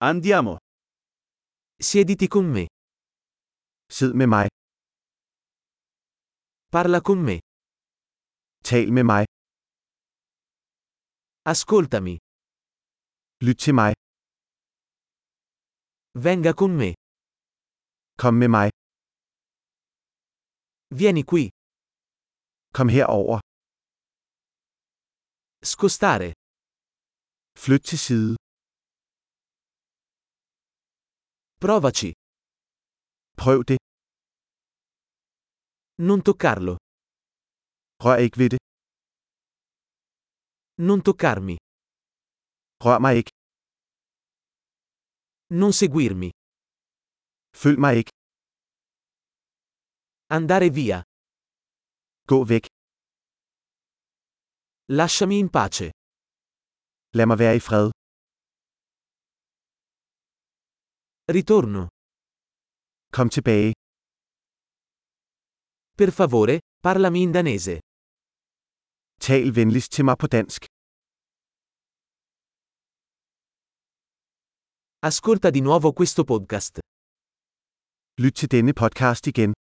Andiamo. Siediti con me. Sid med mig. Parla con me. Tal med mig. Ascoltami. Lyt til mig. Venga con me. Kom med mig. Vieni qui. Kom herover. Scostare. Flyt til side. Provaci. Prøv det. Non toccarlo. Rør ikke ved det. Non toccarmi. Rør mig ikke. Non seguirmi. Følg mig ikke. Andare via. Gå væk. Lasciami in pace. Lad mig være i fred. Ritorno. Kom tilbage. Per favore, parlami in danese. Tal venligst til mig på dansk. Ascolta di nuovo questo podcast. Lyt til denne podcast igen.